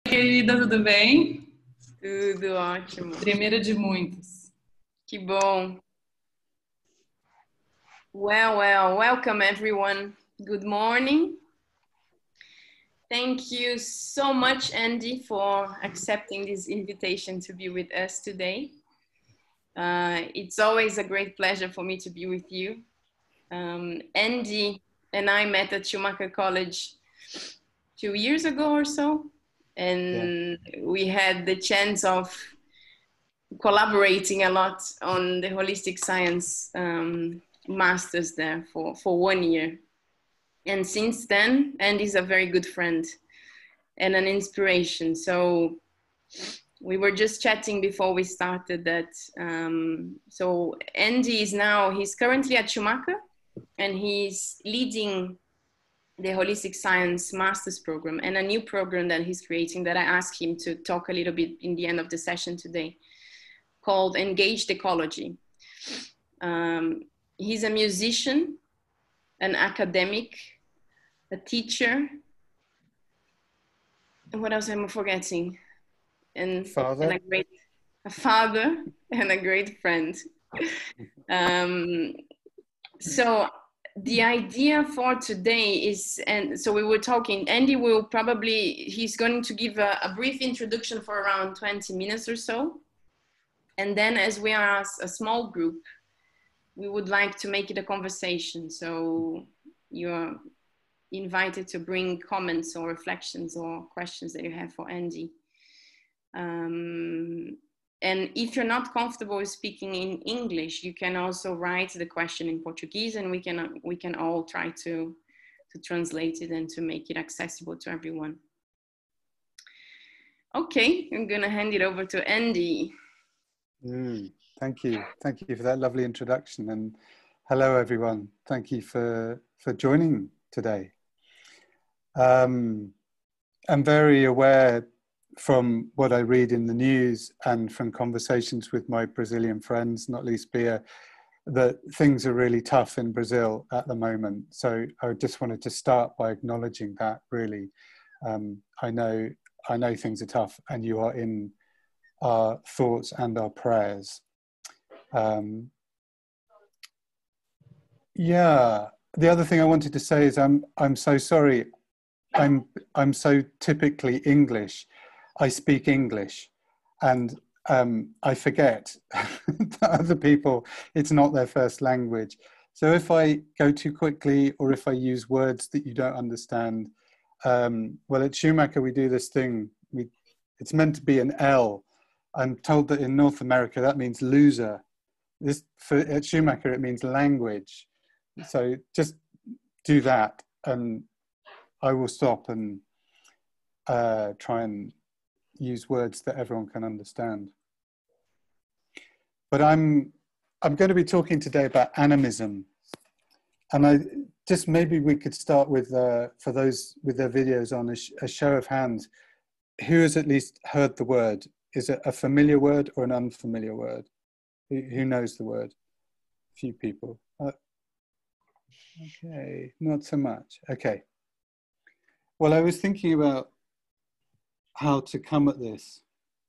querida, tudo bem? Tudo ótimo. Primeiro de muitos. Que bom. Well, welcome everyone. Good morning. Thank you so much, Andy, for accepting this invitation to be with us today. It's always a great pleasure for me to be with you. Andy and I met at Schumacher College 2 years ago or so, and we had the chance of collaborating a lot on the holistic science masters there for 1 year. And since then, Andy's a very good friend and an inspiration. So we were just chatting before we started that. So Andy he's currently at Schumacher, and he's leading the holistic science master's program and a new program that he's creating that I asked him to talk a little bit in the end of the session today, called Engaged Ecology. He's a musician, an academic, a teacher, and what else am I forgetting? And a father and a great friend. So the idea for today is, and so we were talking, Andy he's going to give a brief introduction for around 20 minutes or so. And then as we are a small group, we would like to make it a conversation. So you're invited to bring comments or reflections or questions that you have for Andy. And if you're not comfortable with speaking in English, you can also write the question in Portuguese, and we can all try to translate it and to make it accessible to everyone. Okay, I'm gonna hand it over to Andy. Thank you for that lovely introduction, and hello everyone. Thank you for joining today. I'm very aware from what I read in the news and from conversations with my Brazilian friends, not least Bia, that things are really tough in Brazil at the moment. So I just wanted to start by acknowledging that, really. I know things are tough, and you are in our thoughts and our prayers. The other thing I wanted to say is I'm so sorry. I'm so typically English. I speak English, and I forget that other people, it's not their first language. So if I go too quickly, or if I use words that you don't understand, well, at Schumacher we do this thing. It's meant to be an L. I'm told that in North America that means loser. At Schumacher it means language. So just do that, and I will stop and try and use words that everyone can understand. But I'm going to be talking today about animism, and maybe we could start with for those with their videos on, a show of hands. Who has at least heard the word? Is it a familiar word or an unfamiliar word? Who knows the word? A few people. Okay, not so much. Okay. Well, I was thinking about how to come at this.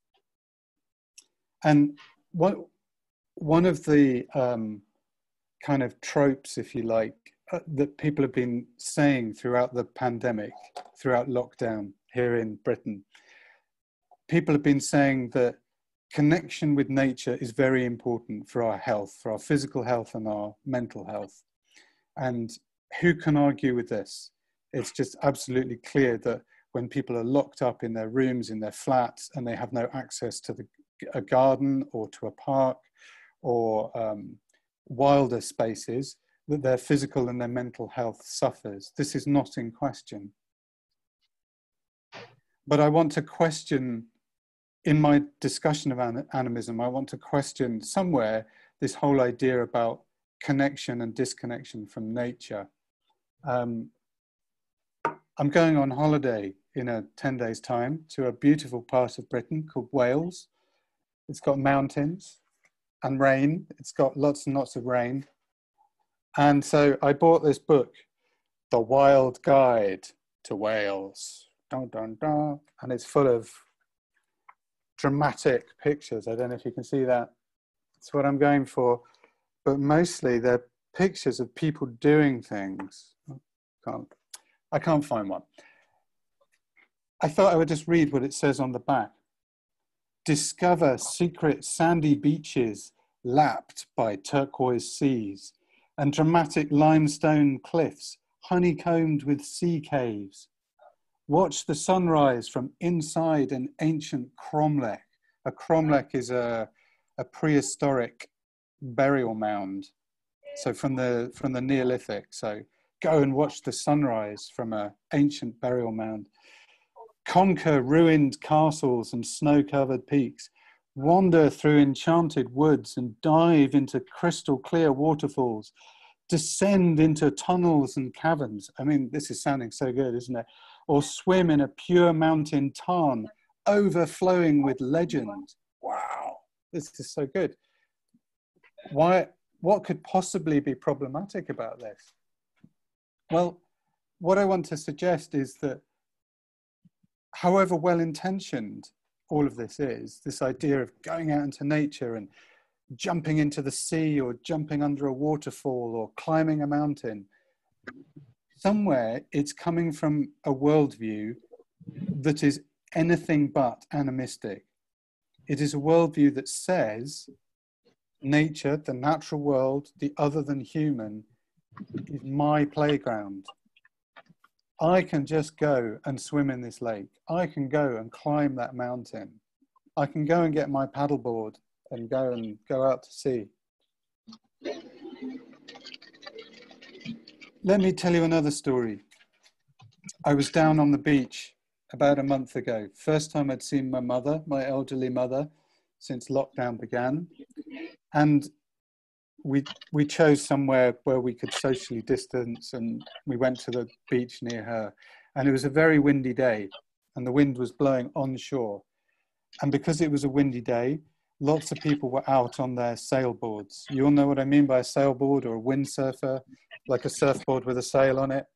And one of the kind of tropes, if you like, that people have been saying throughout the pandemic, throughout lockdown here in Britain, people have been saying that connection with nature is very important for our health, for our physical health and our mental health. And who can argue with this? It's just absolutely clear that when people are locked up in their rooms, in their flats, and they have no access to a garden or to a park or wilder spaces, that their physical and their mental health suffers. This is not in question. But I want to question, in my discussion of animism, I want to question somewhere this whole idea about connection and disconnection from nature. I'm going on holiday in 10 days' time to a beautiful part of Britain called Wales. It's got mountains and rain. It's got lots and lots of rain. And so I bought this book, The Wild Guide to Wales, dun, dun, dun, and it's full of dramatic pictures. I don't know if you can see that. It's what I'm going for. But mostly they're pictures of people doing things. I can't find one. I thought I would just read what it says on the back. Discover secret sandy beaches lapped by turquoise seas and dramatic limestone cliffs honeycombed with sea caves. Watch the sunrise from inside an ancient cromlech. A cromlech is a prehistoric burial mound. So from the Neolithic. So go and watch the sunrise from an ancient burial mound. Conquer ruined castles and snow-covered peaks. Wander through enchanted woods and dive into crystal clear waterfalls. Descend into tunnels and caverns. I mean, this is sounding so good, isn't it? Or swim in a pure mountain tarn, overflowing with legend. Wow, this is so good. What could possibly be problematic about this? Well, what I want to suggest is that however well-intentioned all of this is, this idea of going out into nature and jumping into the sea or jumping under a waterfall or climbing a mountain, somewhere it's coming from a worldview that is anything but animistic. It is a worldview that says nature, the natural world, the other than human, is my playground. I can just go and swim in this lake. I can go and climb that mountain. I can go and get my paddleboard and go out to sea. Let me tell you another story. I was down on the beach about a month ago. First time I'd seen my mother, my elderly mother, since lockdown began. And we chose somewhere where we could socially distance, and we went to the beach near her. And it was a very windy day, and the wind was blowing onshore. And because it was a windy day, lots of people were out on their sailboards. You all know what I mean by a sailboard or a windsurfer, like a surfboard with a sail on it.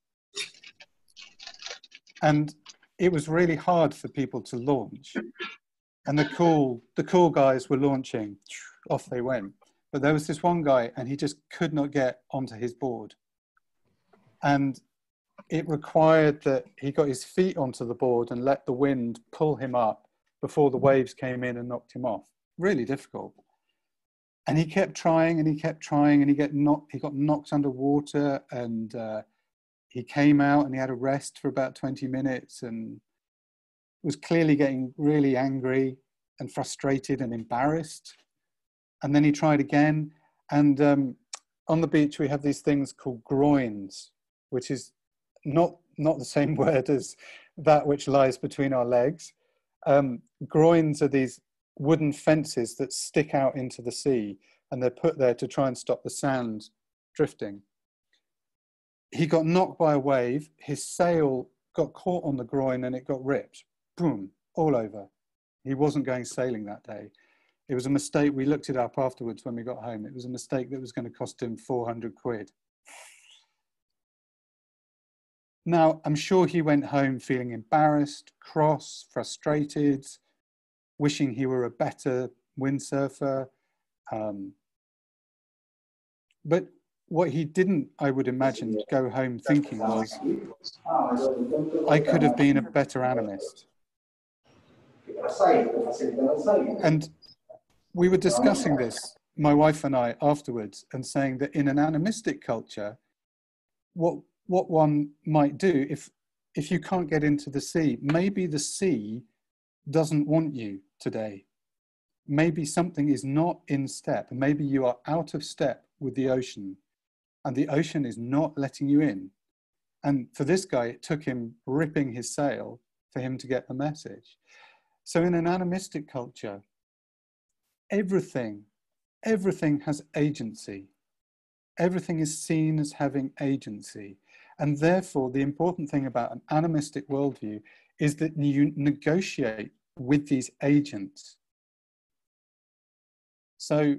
And it was really hard for people to launch. And the cool guys were launching. Off they went. But there was this one guy, and he just could not get onto his board. And it required that he got his feet onto the board and let the wind pull him up before the waves came in and knocked him off. Really difficult. And he kept trying and he kept trying, and he got knocked underwater, and he came out and he had a rest for about 20 minutes and was clearly getting really angry and frustrated and embarrassed. And then he tried again. And on the beach, we have these things called groins, which is not the same word as that which lies between our legs. Groins are these wooden fences that stick out into the sea, and they're put there to try and stop the sand drifting. He got knocked by a wave. His sail got caught on the groin and it got ripped. Boom, all over. He wasn't going sailing that day. It was a mistake. We looked it up afterwards when we got home. It was a mistake that was going to cost him 400 quid. Now, I'm sure he went home feeling embarrassed, cross, frustrated, wishing he were a better windsurfer. But what he didn't, I would imagine, go home thinking was, I could have been a better animist. And we were discussing this, my wife and I, afterwards, and saying that in an animistic culture, what one might do, if you can't get into the sea, maybe the sea doesn't want you today. Maybe something is not in step. Maybe you are out of step with the ocean, and the ocean is not letting you in. And for this guy, it took him ripping his sail for him to get the message. So in an animistic culture, everything has agency. Everything is seen as having agency. And therefore, the important thing about an animistic worldview is that you negotiate with these agents. So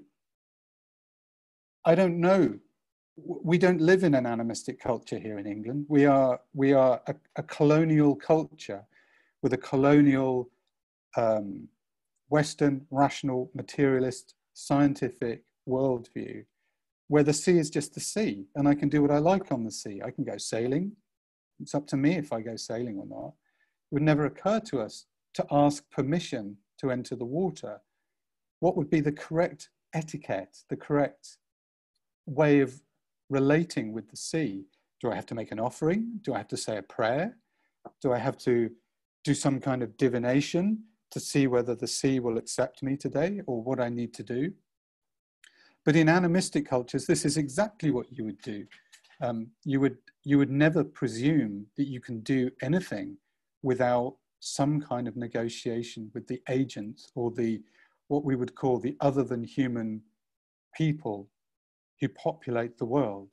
I don't know. We don't live in an animistic culture here in England. We are a colonial culture. with a colonial, Western, rational, materialist, scientific worldview, where the sea is just the sea, and I can do what I like on the sea. I can go sailing. It's up to me if I go sailing or not. It would never occur to us to ask permission to enter the water. What would be the correct etiquette, the correct way of relating with the sea? Do I have to make an offering? Do I have to say a prayer? Do I have to do some kind of divination to see whether the sea will accept me today, or what I need to do? But in animistic cultures, this is exactly what you would do. You would never presume that you can do anything without some kind of negotiation with the agent, or the what we would call the other than human people who populate the world.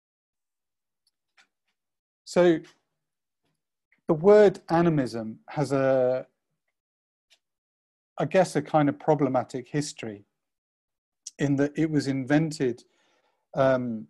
So the word animism has I guess a kind of problematic history, in that it was invented in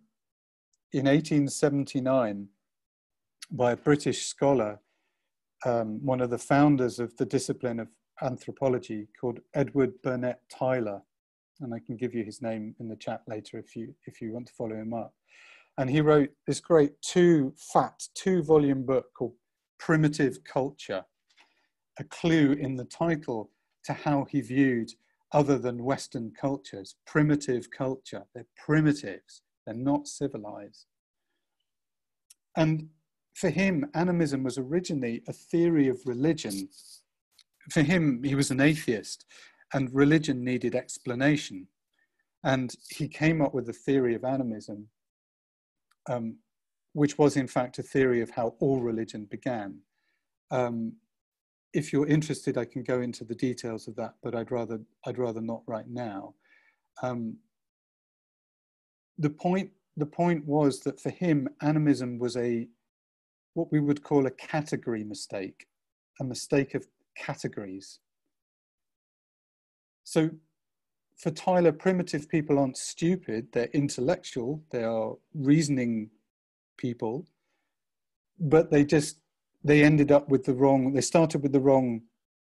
1879 by a British scholar, one of the founders of the discipline of anthropology, called Edward Burnett Tylor, and I can give you his name in the chat later if you want to follow him up. And he wrote this great two-volume book called Primitive Culture, a clue in the title to how he viewed other than Western cultures. Primitive culture, they're primitives, they're not civilized. And for him, animism was originally a theory of religion. For him, he was an atheist, and religion needed explanation. And he came up with a theory of animism, which was in fact a theory of how all religion began. If you're interested, I can go into the details of that, but I'd rather not right now. The point was that for him, animism was what we would call a category mistake, a mistake of categories. So for Tylor, primitive people aren't stupid, they're intellectual, they are reasoning people, but they ended up with they started with the wrong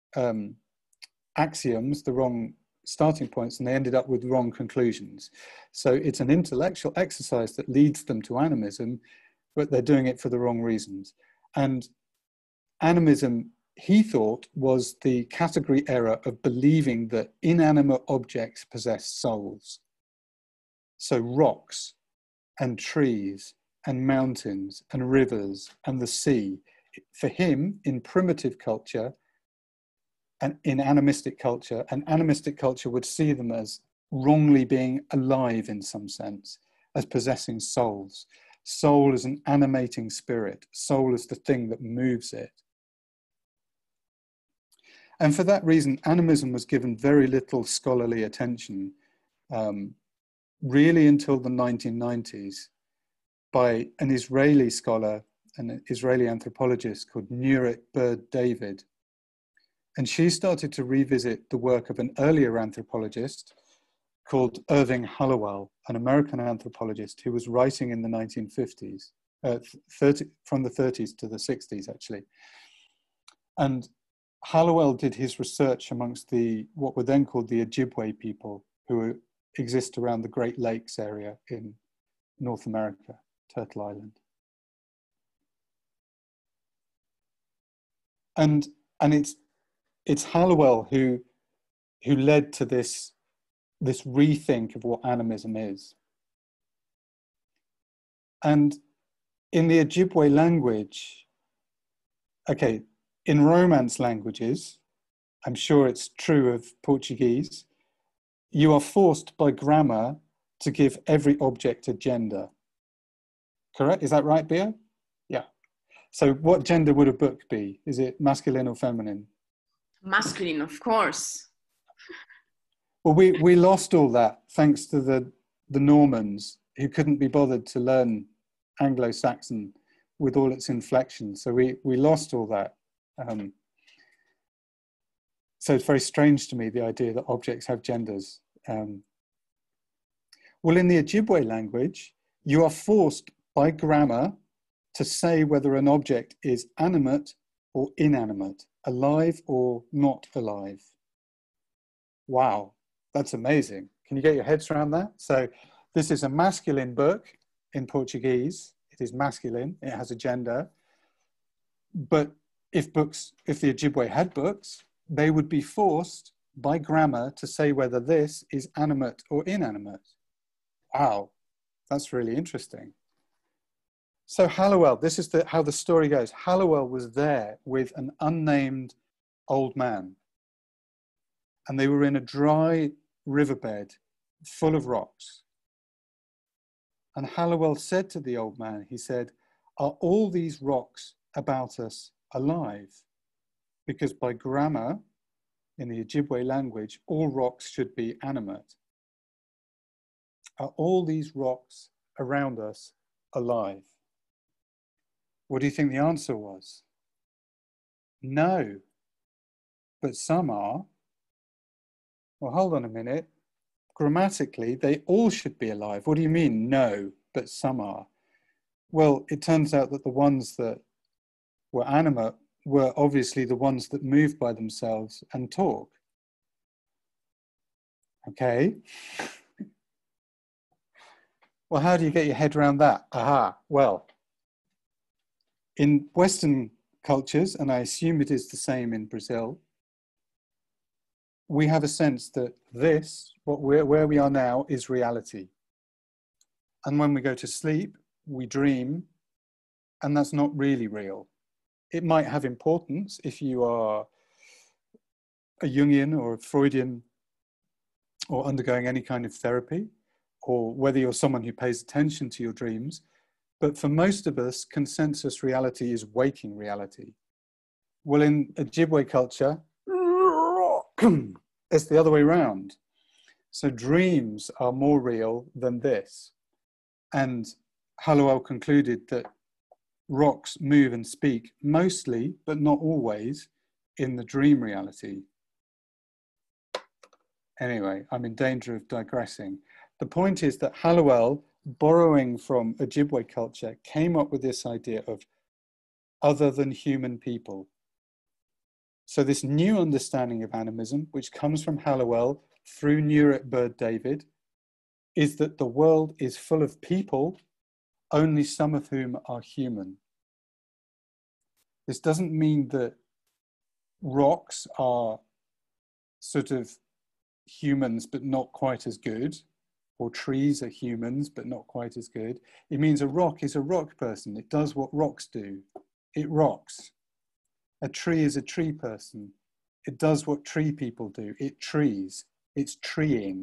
axioms, the wrong starting points, and they ended up with wrong conclusions. So it's an intellectual exercise that leads them to animism, but they're doing it for the wrong reasons. And animism, he thought, was the category error of believing that inanimate objects possess souls. So rocks and trees and mountains and rivers and the sea, for him, in primitive culture and in animistic culture, an animistic culture would see them as wrongly being alive in some sense, as possessing souls. Soul is an animating spirit. Soul is the thing that moves it. And for that reason, animism was given very little scholarly attention, really until the 1990s, by an Israeli scholar, an Israeli anthropologist called Nurit Bird-David. And she started to revisit the work of an earlier anthropologist called Irving Hallowell, an American anthropologist who was writing in the 1950s, from the 30s to the 60s, actually. And Hallowell did his research amongst what were then called the Ojibwe people, who exist around the Great Lakes area in North America, Turtle Island. And it's Hallowell who led to this rethink of what animism is. And in the Ojibwe language, okay, in Romance languages, I'm sure it's true of Portuguese, you are forced by grammar to give every object a gender. Correct? Is that right, Bia? Yeah. So what gender would a book be? Is it masculine or feminine? Masculine, of course. Well, we lost all that thanks to the Normans, who couldn't be bothered to learn Anglo-Saxon with all its inflections. So we lost all that. So it's very strange to me, the idea that objects have genders. Well, in the Ojibwe language, you are forced by grammar to say whether an object is animate or inanimate. alive or not alive. Wow, that's amazing. Can you get your heads around that? So this is a masculine book in Portuguese. It is masculine, it has a gender. But if the Ojibwe had books, they would be forced by grammar to say whether this is animate or inanimate. Wow, that's really interesting. So Hallowell, this is how the story goes. Hallowell was there with an unnamed old man, and they were in a dry riverbed full of rocks. And Hallowell said to the old man, he said, "Are all these rocks about us alive?" Because by grammar, in the Ojibwe language, all rocks should be animate. Are all these rocks around us alive? What do you think the answer was? No, but some are. Well, hold on a minute. Grammatically, they all should be alive. What do you mean, no, but some are? Well, it turns out that the ones that were animate were obviously the ones that move by themselves and talk. Okay. Well, how do you get your head around that? Aha, well, in Western cultures, and I assume it is the same in Brazil, we have a sense that where we are now, is reality. And when we go to sleep, we dream, and that's not really real. It might have importance if you are a Jungian or a Freudian or undergoing any kind of therapy, or whether you're someone who pays attention to your dreams. But for most of us, consensus reality is waking reality. Well, in Ojibwe culture, it's the other way around. So dreams are more real than this. And Hallowell concluded that rocks move and speak mostly, but not always, in the dream reality. Anyway, I'm in danger of digressing. The point is that Hallowell, borrowing from Ojibwe culture, came up with this idea of other than human people. So this new understanding of animism, which comes from Hallowell through Nurit Bird-David, is that the world is full of people, only some of whom are human. This doesn't mean that rocks are sort of humans but not quite as good, or trees are humans but not quite as good. It means a rock is a rock person. It does what rocks do. It rocks. A tree is a tree person. It does what tree people do. It trees. It's treeing.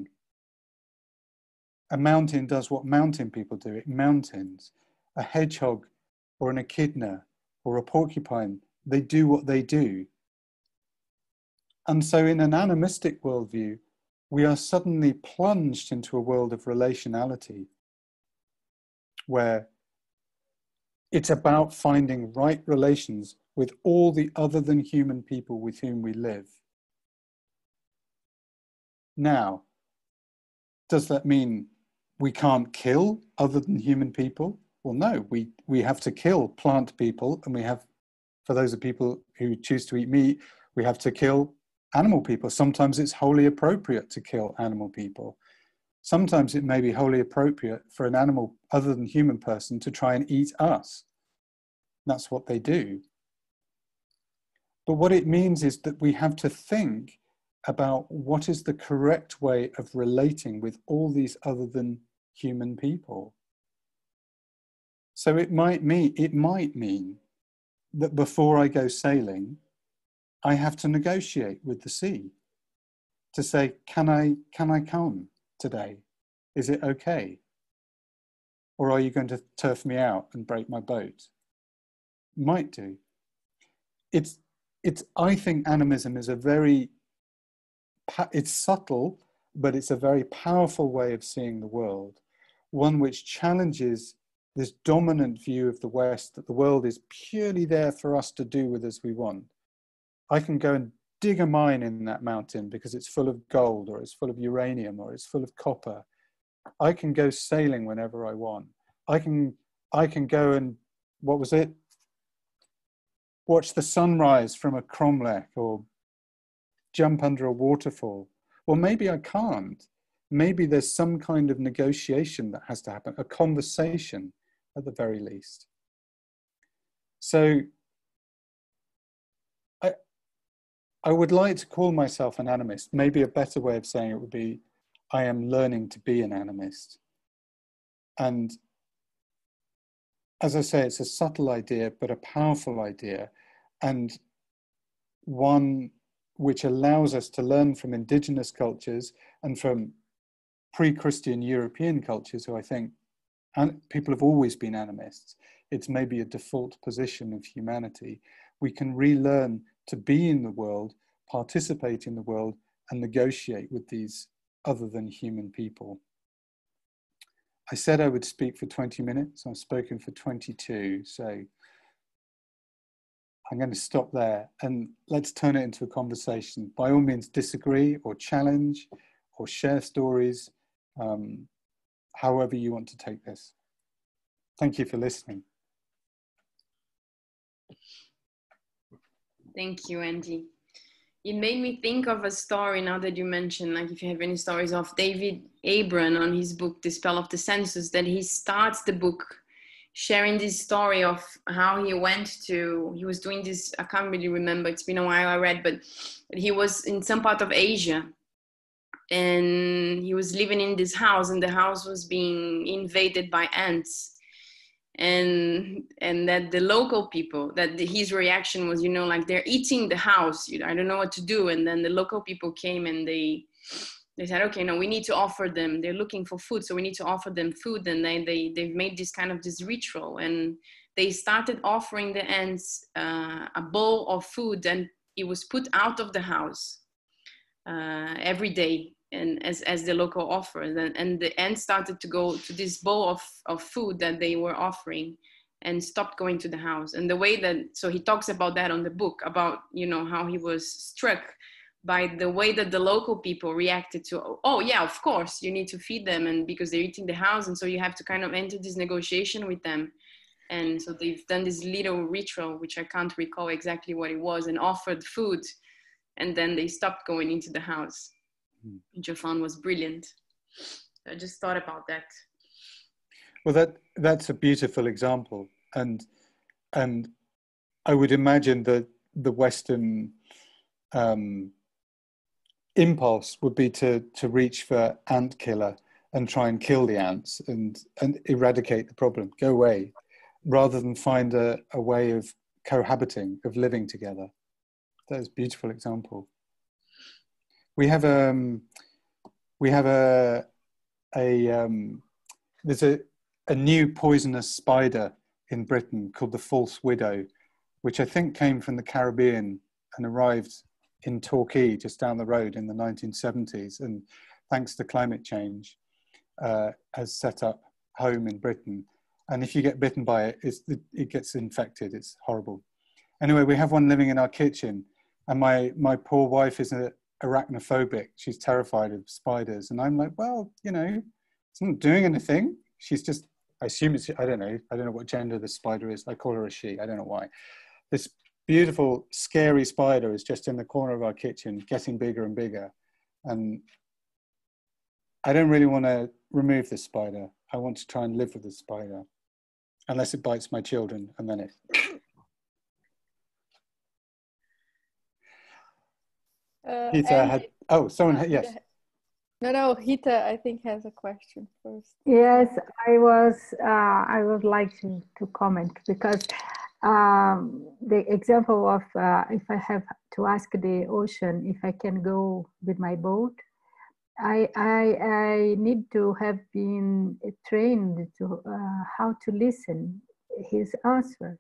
A mountain does what mountain people do. It mountains. A hedgehog or an echidna or a porcupine, they do what they do. And so in an animistic worldview, we are suddenly plunged into a world of relationality where it's about finding right relations with all the other than human people with whom we live. Now, does that mean we can't kill other than human people? Well, no, we have to kill plant people, and we have, for those of people who choose to eat meat, we have to kill animal people. Sometimes it's wholly appropriate to kill animal people. Sometimes it may be wholly appropriate for an animal other than human person to try and eat us. That's what they do. But what it means is that we have to think about what is the correct way of relating with all these other than human people. So it might mean that before I go sailing, I have to negotiate with the sea to say, can I come today? Is it okay? Or are you going to turf me out and break my boat? Might do. I think animism is it's subtle, but it's a very powerful way of seeing the world. One which challenges this dominant view of the West that the world is purely there for us to do with as we want. I can go and dig a mine in that mountain because it's full of gold, or it's full of uranium, or it's full of copper. I can go sailing whenever I want. I can go and, what was it? watch the sunrise from a cromlech or jump under a waterfall. Well, maybe I can't. Maybe there's some kind of negotiation that has to happen, a conversation at the very least. So I would like to call myself an animist. Maybe a better way of saying it would be, I am learning to be an animist. And as I say, it's a subtle idea, but a powerful idea, and one which allows us to learn from indigenous cultures and from pre-Christian European cultures, who I think people have always been animists. It's maybe a default position of humanity. We can relearn to be in the world, participate in the world, and negotiate with these other than human people. I said I would speak for 20 minutes. I've spoken for 22, so I'm going to stop there and let's turn it into a conversation. By all means, disagree or challenge or share stories, however you want to take this. Thank you for listening. Thank you, Andy. It made me think of a story now that you mentioned, like if you have any stories, of David Abram on his book, The Spell of the Senses, that he starts the book sharing this story of how he was doing this, I can't really remember, it's been a while I read, but he was in some part of Asia and he was living in this house and the house was being invaded by ants. And that the local people, his reaction was, like they're eating the house, I don't know what to do. And then the local people came and they said, okay, no, we need to offer them, they're looking for food, so we need to offer them food. And they've made this ritual, and they started offering the ants a bowl of food, and it was put out of the house every day, and as the local offer, and the ants started to go to this bowl of food that they were offering and stopped going to the house. And the way so he talks about that on the book, about how he was struck by the way that the local people reacted to, oh yeah, of course you need to feed them, and because they're eating the house, and so you have to kind of enter this negotiation with them. And so they've done this little ritual, which I can't recall exactly what it was, and offered food, and then they stopped going into the house, which I found was brilliant. So I just thought about that. Well, that's a beautiful example, and I would imagine that the Western impulse would be to reach for ant killer and try and kill the ants and eradicate the problem, go away, rather than find a way of cohabiting, of living together. That's a beautiful example. We have there's a new poisonous spider in Britain called the false widow, which I think came from the Caribbean and arrived in Torquay, just down the road, in the 1970s, and thanks to climate change, has set up home in Britain. And if you get bitten by it, it gets infected. It's horrible. Anyway, we have one living in our kitchen, and my poor wife is arachnophobic. She's terrified of spiders, and I'm like, well, it's not doing anything. She's just, I assume it's, I don't know what gender the spider is. I call her a she. I don't know why. This beautiful, scary spider is just in the corner of our kitchen, getting bigger and bigger. And I don't really want to remove this spider. I want to try and live with the spider, unless it bites my children, and then it. Hita had, yes. No, Hita, I think, has a question first. Yes, I would like to comment, because the example of if I have to ask the ocean if I can go with my boat, I need to have been trained to how to listen his answer.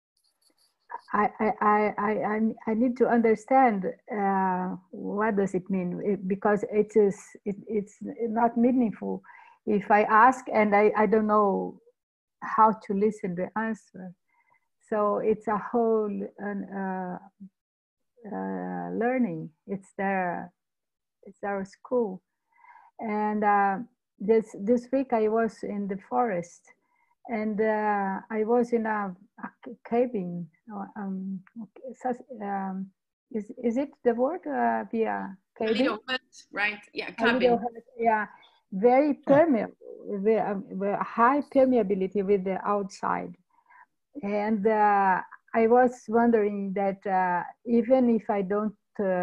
I need to understand what does it mean, because it's not meaningful if I ask and I don't know how to listen the answer. So it's a whole learning. It's our school. And this week I was in the forest, and I was in a cabin. Is it the word via cabin? A little hut, right? Yeah, A cabin. little hut, yeah, very permeable, very high permeability with the outside. And I was wondering that even if I don't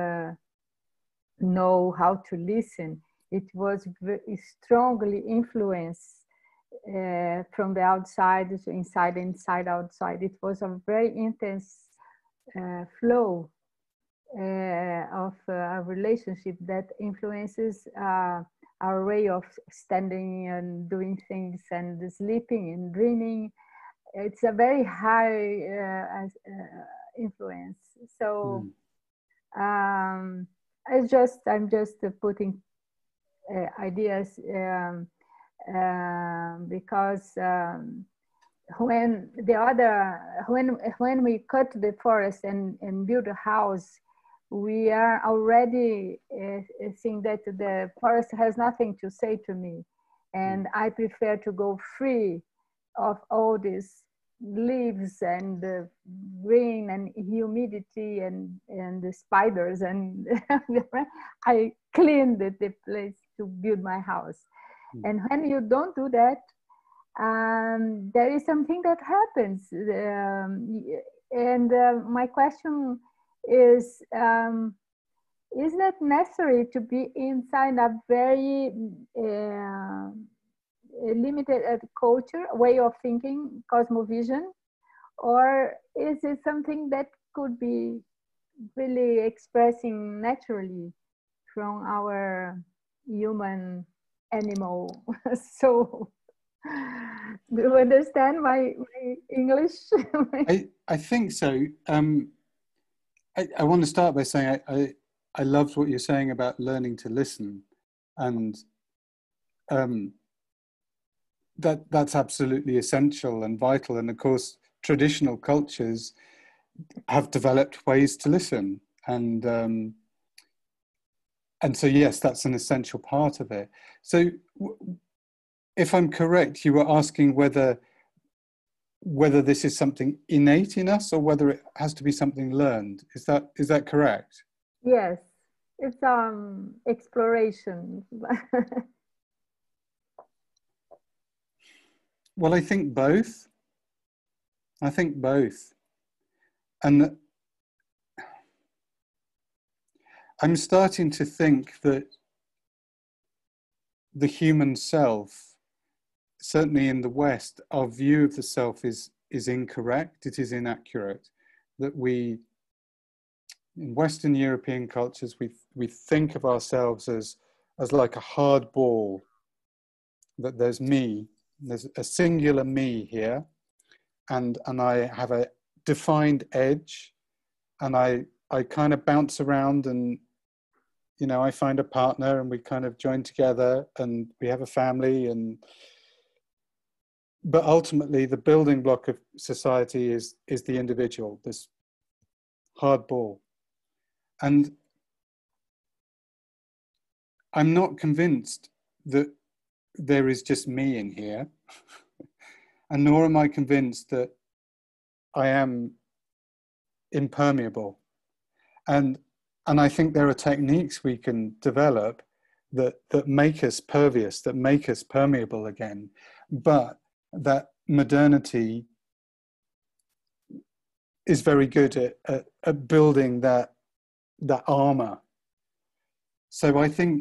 know how to listen, it was strongly influenced from the outside to inside, outside. It was a very intense flow of a relationship that influences our way of standing and doing things and sleeping and dreaming. It's a very high influence. So I'm just putting ideas because when we cut the forest and build a house, we are already seeing that the forest has nothing to say to me, and I prefer to go free of all these leaves and the rain and humidity and the spiders, and I cleaned the place to build my house. And when you don't do that, there is something that happens. My question is that necessary to be inside a very limited culture, way of thinking, cosmovision, or is it something that could be really expressing naturally from our human animal? So do you understand my English? I think so. I want to start by saying I loved what you're saying about learning to listen, and that's absolutely essential and vital. And of course, traditional cultures have developed ways to listen, and so yes, that's an essential part of it. So, if I'm correct, you were asking whether this is something innate in us or whether it has to be something learned. Is that correct? Yes, it's exploration. Well, I think both. And I'm starting to think that the human self, certainly in the West, our view of the self is incorrect. It is inaccurate. That we, in Western European cultures, we think of ourselves as like a hard ball. That there's me, there's a singular me here, and I have a defined edge, and I kind of bounce around, and I find a partner, and we kind of join together, and we have a family, but ultimately the building block of society is the individual, this hard ball. And I'm not convinced that there is just me in here, and nor am I convinced that I am impermeable. And I think there are techniques we can develop that make us pervious, that make us permeable again, but that modernity is very good at building that armor. So I think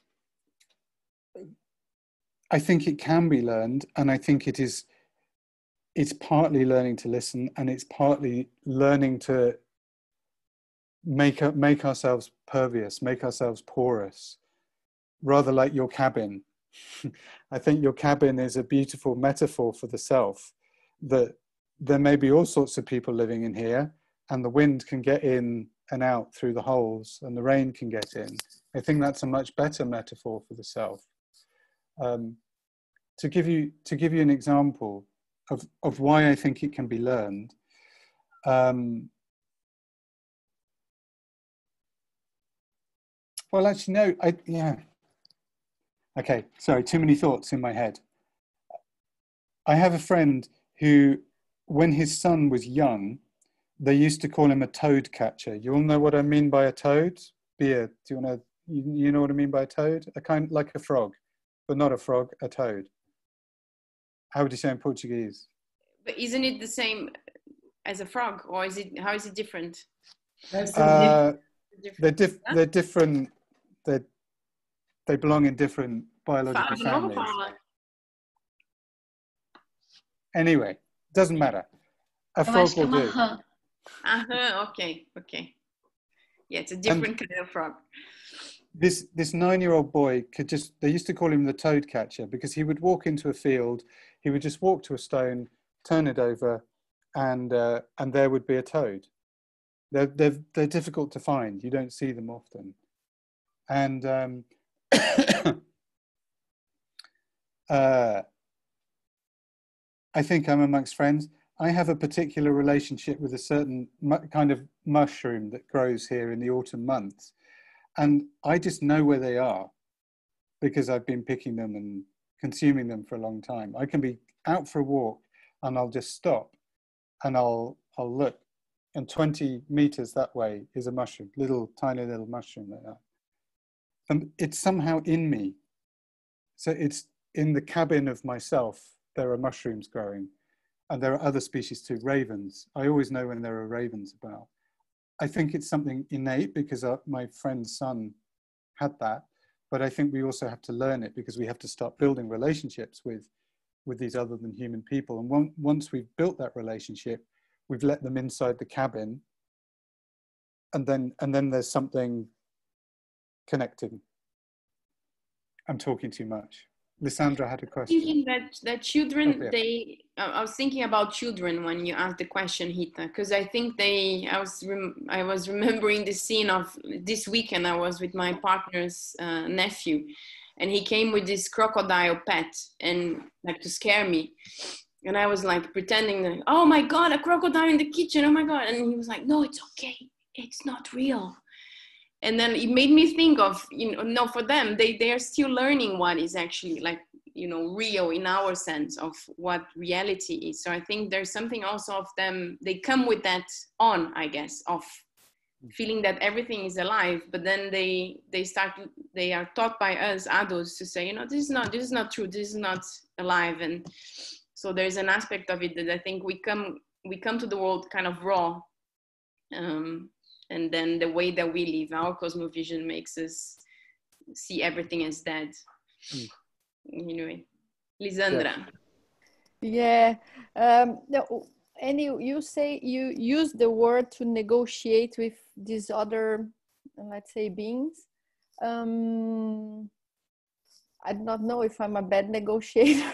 it can be learned, and I think it's partly learning to listen, and it's partly learning to make ourselves pervious, make ourselves porous, rather like your cabin. I think your cabin is a beautiful metaphor for the self, that there may be all sorts of people living in here, and the wind can get in and out through the holes, and the rain can get in. I think that's a much better metaphor for the self. To give you an example of why I think it can be learned, well, actually, no, yeah. Okay, sorry, too many thoughts in my head. I have a friend who, when his son was young, they used to call him a toad catcher. You all know what I mean by a toad? Bia, do you want to, you know what I mean by a toad? A kind like a frog, but not a frog, a toad. How would you say in Portuguese? But isn't it the same as a frog, or is it, how is it different? They're different. They belong in different biological families. Anyway, doesn't matter. A frog will do. Okay. Yeah, it's a different kind of frog. This 9-year-old boy could just, they used to call him the toad catcher because he would walk into a field, he would just walk to a stone, turn it over, and there would be a toad. They're difficult to find. You don't see them often. And I think I'm amongst friends. I have a particular relationship with a certain kind of mushroom that grows here in the autumn months. And I just know where they are because I've been picking them and consuming them for a long time. I can be out for a walk and I'll just stop and I'll look, and 20 meters that way is a mushroom, tiny little mushroom like that. And it's somehow in me. So it's in the cabin of myself, there are mushrooms growing, and there are other species too, ravens. I always know when there are ravens about. I think it's something innate because my friend's son had that, but I think we also have to learn it because we have to start building relationships with these other than human people. And once we've built that relationship, we've let them inside the cabin, and then there's something connecting. I'm talking too much. Lissandra had a question. Thinking that children, I was thinking about children when you asked the question, Hita, because I think I was remembering the scene of this weekend. I was with my partner's nephew, and he came with this crocodile pet, and like to scare me. And I was like pretending that, oh my God, a crocodile in the kitchen, oh my God. And he was like, no, it's okay, it's not real. And then it made me think of, no, for them, they are still learning what is actually like, real in our sense of what reality is. So I think there's something also of them, they come with that on, I guess, of feeling that everything is alive, but then they are taught by us adults to say, this is not true, this is not alive. And so there's an aspect of it that I think we come to the world kind of raw. And then the way that we live, our cosmovision makes us see everything as dead. Anyway, Lisandra. Yeah. And you say you use the word to negotiate with these other, let's say, beings. I do not know if I'm a bad negotiator.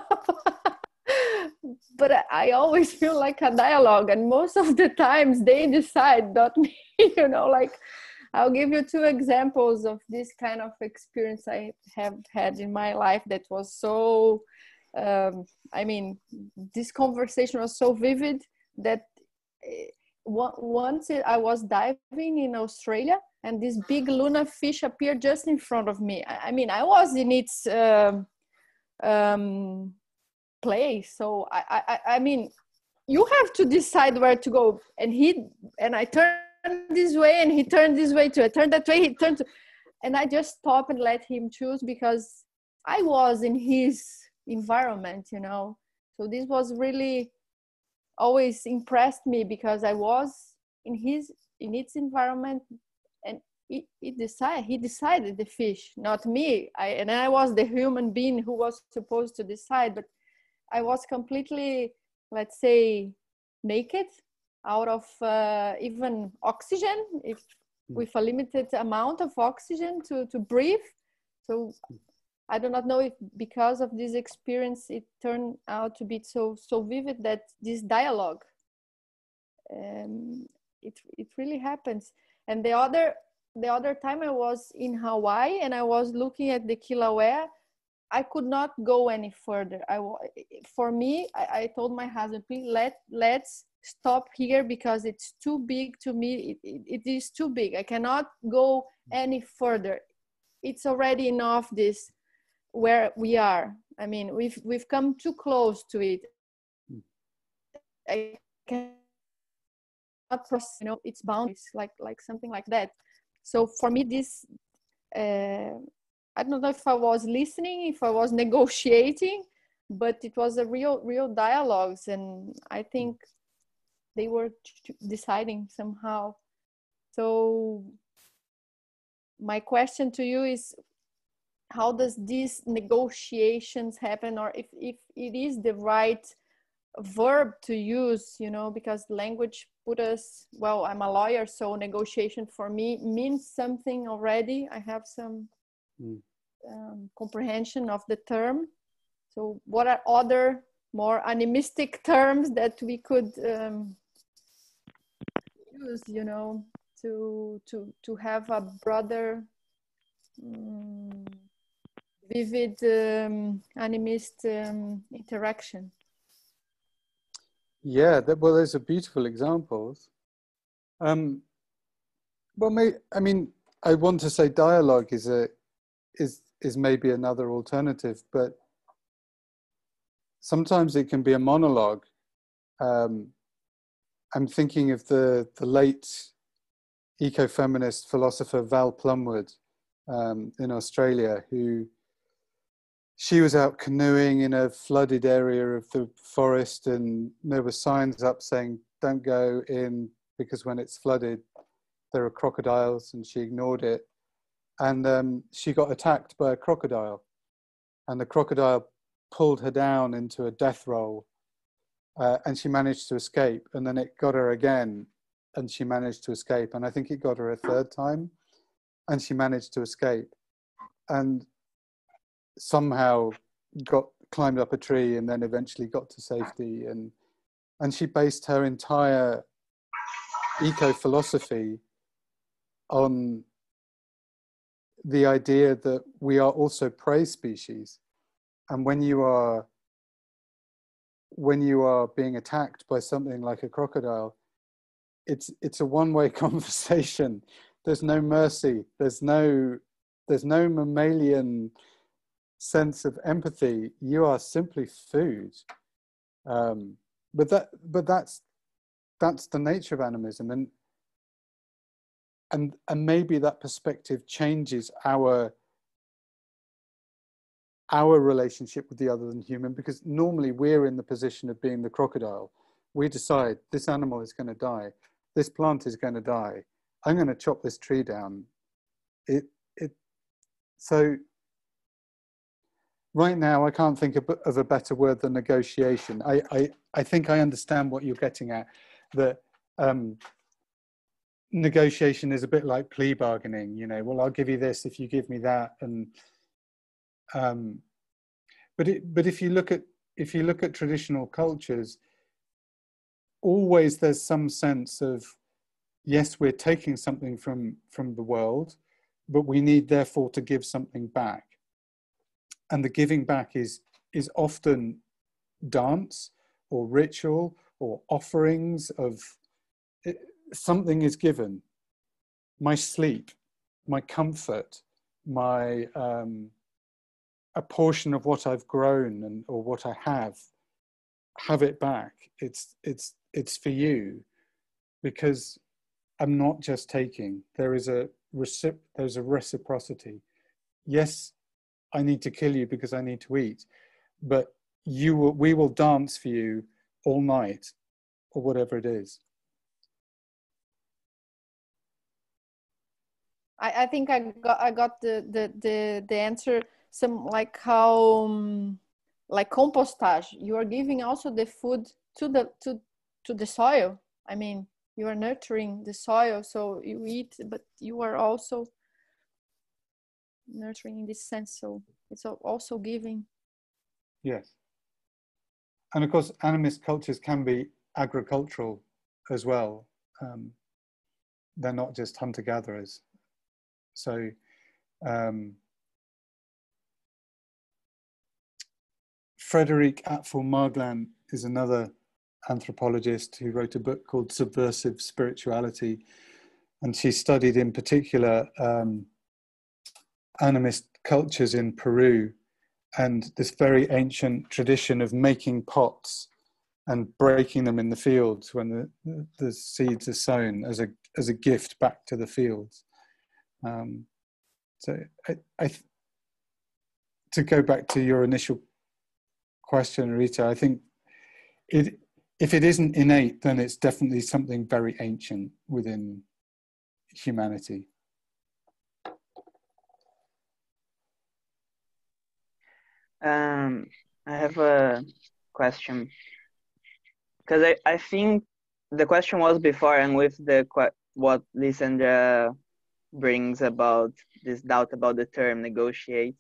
But I always feel like a dialogue, and most of the times they decide, not me. Like I'll give you 2 examples of this kind of experience I have had in my life that was so, this conversation was so vivid that once I was diving in Australia and this big Luna fish appeared just in front of me. I was in its place, so you have to decide where to go, and I turned this way and he turned this way too. I turned that way, he turned to, and I just stopped and let him choose because I was in his environment, so this was really always impressed me because I was in its environment, and he decided the fish, not me. I was the human being who was supposed to decide, but I was completely, let's say, naked, out of even oxygen, with a limited amount of oxygen to breathe. So I do not know if because of this experience, it turned out to be so vivid that this dialogue, it really happens. And the other time I was in Hawaii and I was looking at the Kilauea, I could not go any further. I told my husband, please let's stop here because it's too big to me. It is too big. I cannot go any further. It's already enough this where we are. I mean, we've come too close to it. I cannot process, you know, its boundaries, like something like that. So for me, this, I don't know if I was listening, if I was negotiating, but it was a real dialogues, and I think they were deciding somehow. So my question to you is, how does these negotiations happen, or if it is the right verb to use, you know, because language put us, well, I'm a lawyer, so negotiation for me means something already. I have some comprehension of the term. So what are other more animistic terms that we could use, you know, to have a broader vivid animist interaction? Yeah, well, those are beautiful examples. Well, I mean, I want to say dialogue is maybe another alternative, but sometimes it can be a monologue. I'm thinking of the late ecofeminist philosopher Val Plumwood in Australia, who she was out canoeing in a flooded area of the forest, and there were signs up saying, don't go in because when it's flooded, there are crocodiles, and she ignored it. And she got attacked by a crocodile, and the crocodile pulled her down into a death roll, and she managed to escape. And then it got her again, and she managed to escape. And I think it got her a third time, and she managed to escape. And somehow climbed up a tree, and then eventually got to safety. And she based her entire eco-philosophy on the idea that we are also prey species. And when you are being attacked by something like a crocodile, it's a one-way conversation. There's no mercy. There's no mammalian sense of empathy. You are simply food. But that's the nature of animism, and maybe that perspective changes our relationship with the other than human, because normally we're in the position of being the crocodile. We decide this animal is going to die, this plant is going to die, I'm going to chop this tree down. So right now I can't think of a better word than negotiation. I think I understand what you're getting at, that negotiation is a bit like plea bargaining, you know, well, I'll give you this if you give me that. And but if you look at traditional cultures, always there's some sense of, yes, we're taking something from the world, but we need therefore to give something back. And the giving back is often dance or ritual or offerings of something is given. My sleep, my comfort, my a portion of what I've grown or what I have it back. It's for you, because I'm not just taking. There's a reciprocity. Yes, I need to kill you because I need to eat, but we will dance for you all night, or whatever it is. I think I got the answer. Some like how like compostage. You are giving also the food to the soil. I mean, you are nurturing the soil, so you eat, but you are also nurturing in this sense. So it's also giving. Yes. And of course, animist cultures can be agricultural as well. They're not just hunter-gatherers. So Frédéric Atfour-Marglin is another anthropologist who wrote a book called Subversive Spirituality, and she studied in particular animist cultures in Peru, and this very ancient tradition of making pots and breaking them in the fields when the seeds are sown as a gift back to the fields. So to go back to your initial question, Rita, I think if it isn't innate, then it's definitely something very ancient within humanity. I have a question, because I think the question was before, and with what Lysandra brings about this doubt about the term negotiate,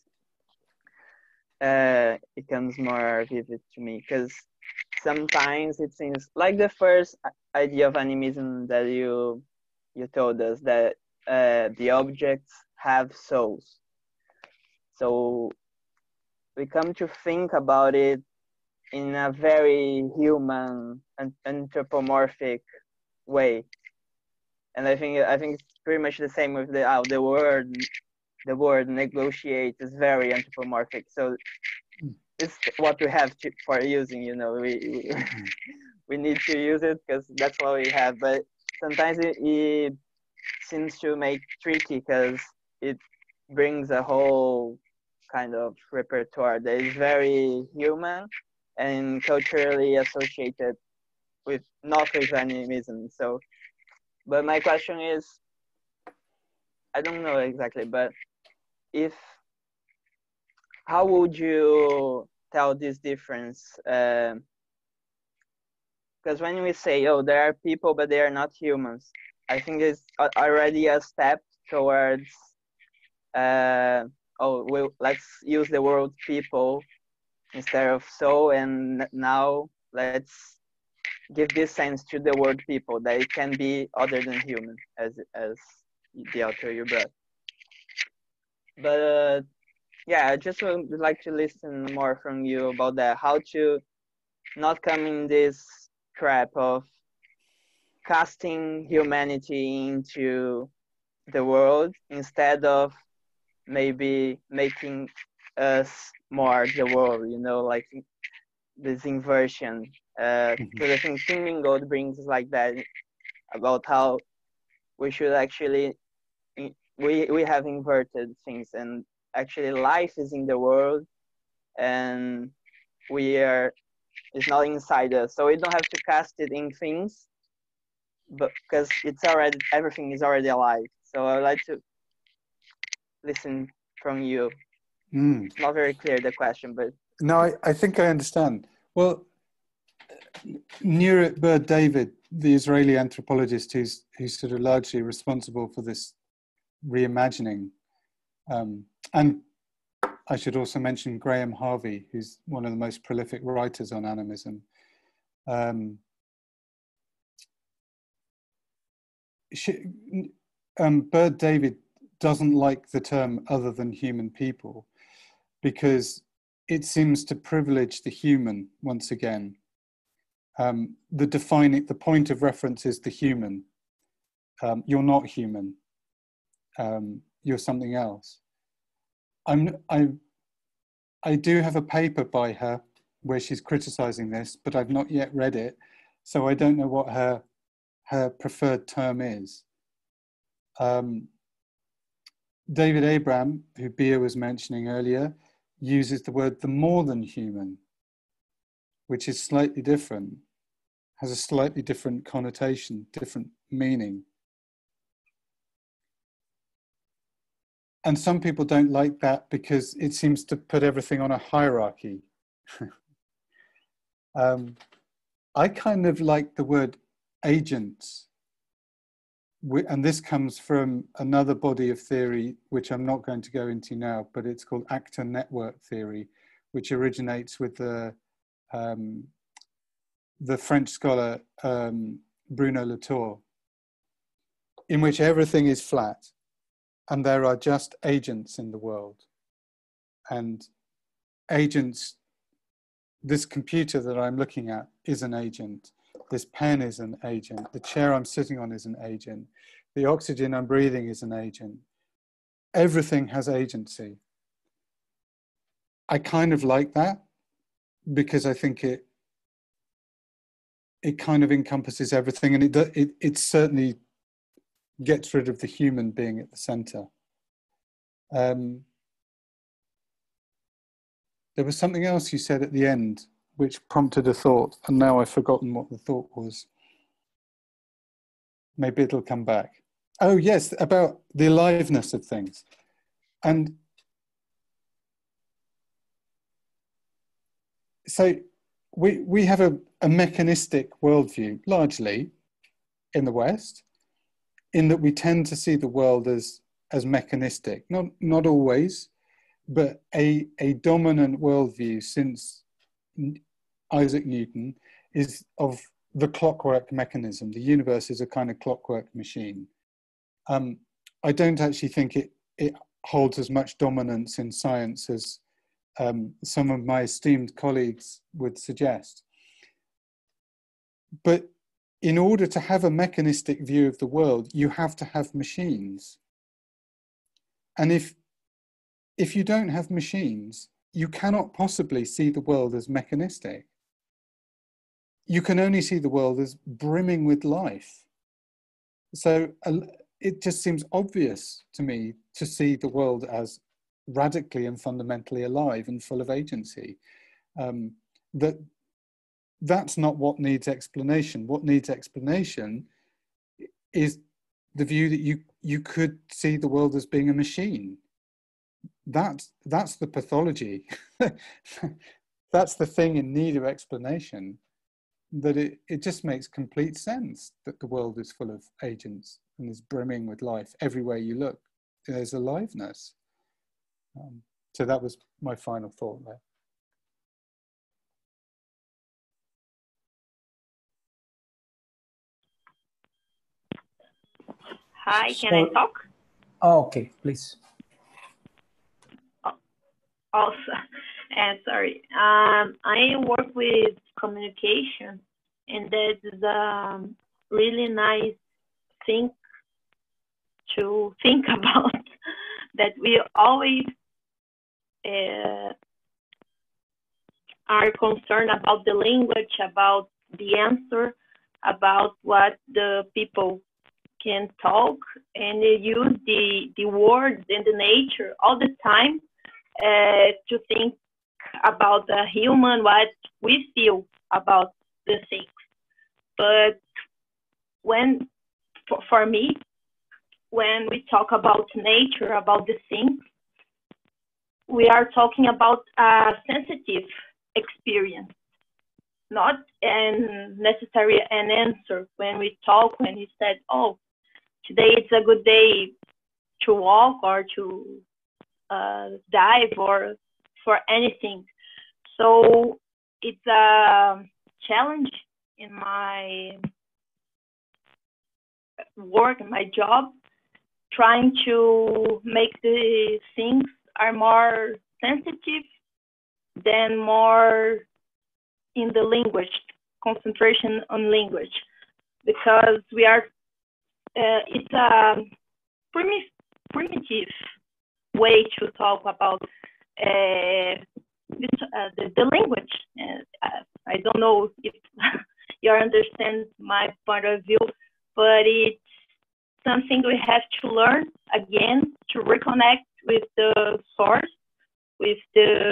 it comes more vivid to me, because sometimes it seems like the first idea of animism that you told us, that the objects have souls. So we come to think about it in a very human and anthropomorphic way, and I think it's pretty much the same with the word. The word negotiate is very anthropomorphic, so it's what we have for using. You know, we need to use it because that's what we have. But sometimes it seems to make tricky because it brings a whole kind of repertoire that is very human and culturally associated with not with animism. So, but my question is, I don't know exactly, but how would you tell this difference? Because when we say, oh, there are people, but they are not humans, I think it's already a step towards, let's use the word people instead of soul, and now let's give this sense to the word people, that it can be other than human, as the author you brought. But yeah, I just would like to listen more from you about that, how to not come in this trap of casting humanity into the world instead of maybe making us more the world, you know, like this inversion. Because I think Thinking God brings like that, about how we should actually, we have inverted things, and actually life is in the world and it's not inside us, so we don't have to cast it in things, but because everything is already alive. So I would like to listen from you. It's not very clear, the question, but no, I think I understand. Well, Nurit Ber-David, the Israeli anthropologist who's sort of largely responsible for this reimagining, and I should also mention Graham Harvey, who's one of the most prolific writers on animism. Ber-David doesn't like the term other than human people because it seems to privilege the human once again. The point of reference is the human. You're not human. You're something else. I do have a paper by her where she's criticizing this, but I've not yet read it, so I don't know what her preferred term is. David Abram, who Bia was mentioning earlier, uses the word the more than human, which is slightly different, has a slightly different connotation, different meaning. And some people don't like that because it seems to put everything on a hierarchy. I kind of like the word agents. And this comes from another body of theory, which I'm not going to go into now, but it's called actor network theory, which originates with the French scholar Bruno Latour, in which everything is flat and there are just agents in the world. And agents, this computer that I'm looking at is an agent. This pen is an agent. The chair I'm sitting on is an agent. The oxygen I'm breathing is an agent. Everything has agency. I kind of like that, because I think it kind of encompasses everything, and it certainly gets rid of the human being at the center. There was something else you said at the end which prompted a thought, and now I've forgotten what the thought was. Maybe it'll come back. Oh yes, about the aliveness of things. And so we have a mechanistic worldview, largely, in the West, in that we tend to see the world as mechanistic. Not always, but a dominant worldview since Isaac Newton is of the clockwork mechanism. The universe is a kind of clockwork machine. I don't actually think it holds as much dominance in science as some of my esteemed colleagues would suggest. But in order to have a mechanistic view of the world, you have to have machines. And if you don't have machines, you cannot possibly see the world as mechanistic. You can only see the world as brimming with life. So it just seems obvious to me to see the world as radically and fundamentally alive and full of agency. That's not what needs explanation. What needs explanation is the view that you could see the world as being a machine. That's the pathology. That's the thing in need of explanation, that it just makes complete sense that the world is full of agents and is brimming with life. Everywhere you look, there's aliveness. So that was my final thought there. Hi, can I talk? Oh, okay, please. Also, sorry. I work with communication, and that's a really nice thing to think about, that we always are concerned about the language, about the answer, about what the people can talk, and they use the words and the nature all the time to think about the human, what we feel about the things. But when, for me, when we talk about nature, about the things, we are talking about a sensitive experience, not necessarily an answer. When we talk, when we said, oh, today it's a good day to walk or to dive or for anything. So it's a challenge in my work, in my job, trying to make the things are more sensitive than more in the language, concentration on language, because we are, it's a primitive way to talk about the language. I don't know if you understand my point of view, but it's something we have to learn again to reconnect with the source, with the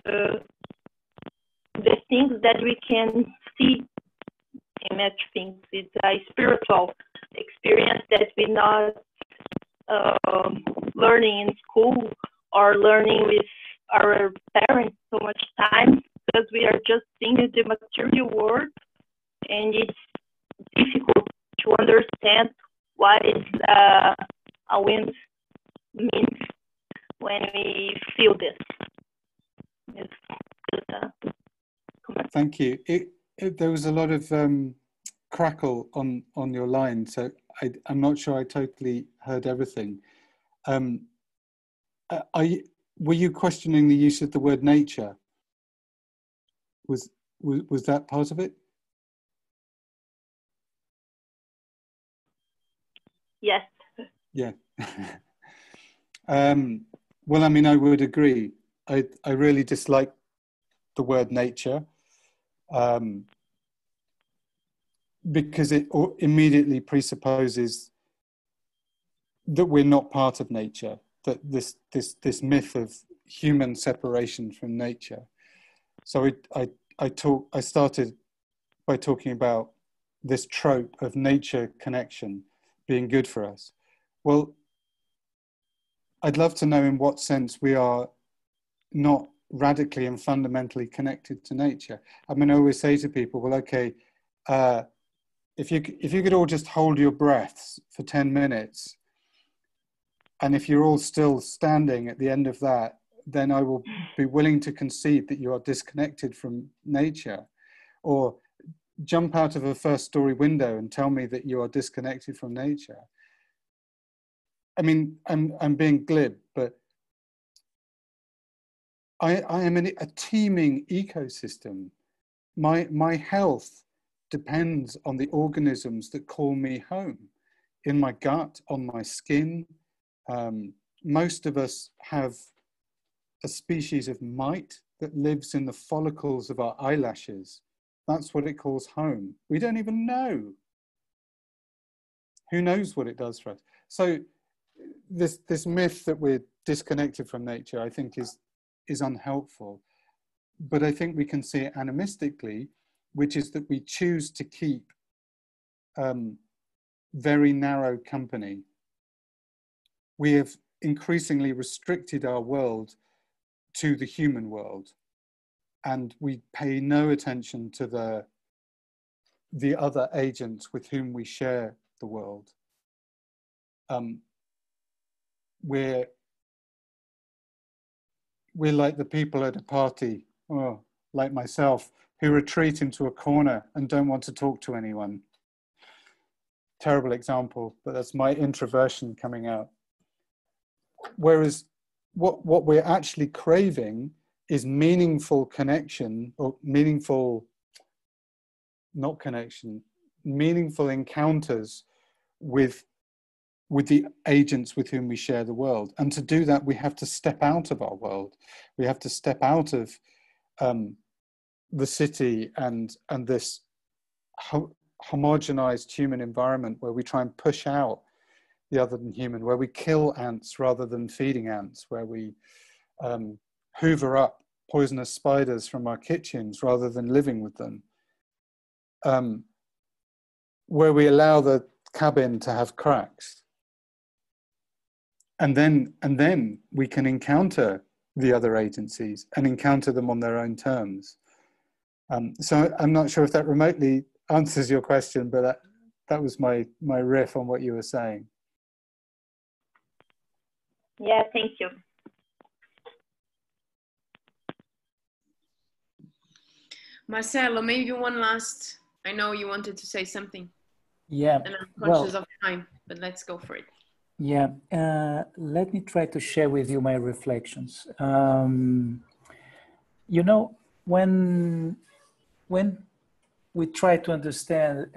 things that we can see in match things. It's a spiritual experience that we're not learning in school or learning with our parents so much time, because we are just seeing the material world, and it's difficult to understand what is a wind means when we feel this. Thank you. There was a lot of crackle on your line, so I'm not sure I totally heard everything. Were you questioning the use of the word nature? Was that part of it? Yes. Yeah. Well, I mean, I would agree. I really dislike the word nature, because it immediately presupposes that we're not part of nature, that this myth of human separation from nature. So I started by talking about this trope of nature connection being good for us. Well, I'd love to know in what sense we are not radically and fundamentally connected to nature. I mean, I always say to people, well, okay, if you could all just hold your breaths for 10 minutes, and if you're all still standing at the end of that, then I will be willing to concede that you are disconnected from nature. Or jump out of a first-story window and tell me that you are disconnected from nature. I mean, I'm being glib, but I am in a teeming ecosystem. My health depends on the organisms that call me home, in my gut, on my skin. Most of us have a species of mite that lives in the follicles of our eyelashes. That's what it calls home. We don't even know. Who knows what it does for us? So this myth that we're disconnected from nature, I think is unhelpful. But I think we can see it animistically, which is that we choose to keep very narrow company. We have increasingly restricted our world to the human world, and we pay no attention to the other agents with whom we share the world. We're like the people at a party, or like myself, who retreat into a corner and don't want to talk to anyone. Terrible example, but that's my introversion coming out. Whereas what we're actually craving is meaningful connection, or meaningful, not connection, meaningful encounters with the agents with whom we share the world. And to do that, we have to step out of our world. We have to step out of the city and this homogenized human environment where we try and push out the other than human, where we kill ants rather than feeding ants, where we hoover up poisonous spiders from our kitchens rather than living with them, where we allow the cabin to have cracks. And then we can encounter the other agencies and encounter them on their own terms. So I'm not sure if that remotely answers your question, but that was my riff on what you were saying. Yeah, thank you. Marcelo, maybe one last, I know you wanted to say something. Yeah. And I'm conscious of time, but let's go for it. Yeah, let me try to share with you my reflections. You know, when we try to understand,